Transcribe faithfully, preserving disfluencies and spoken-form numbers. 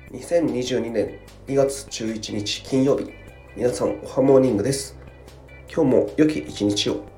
にせんにじゅうにねんにがつじゅういちにち金曜日、皆さんおはモーニングです。今日も良き一日を。